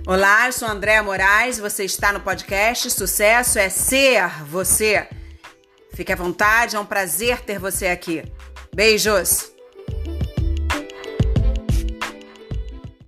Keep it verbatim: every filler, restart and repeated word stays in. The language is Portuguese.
Olá, eu sou Andréa Moraes, você está no podcast Sucesso é Ser Você. Fique à vontade, é um prazer ter você aqui. Beijos!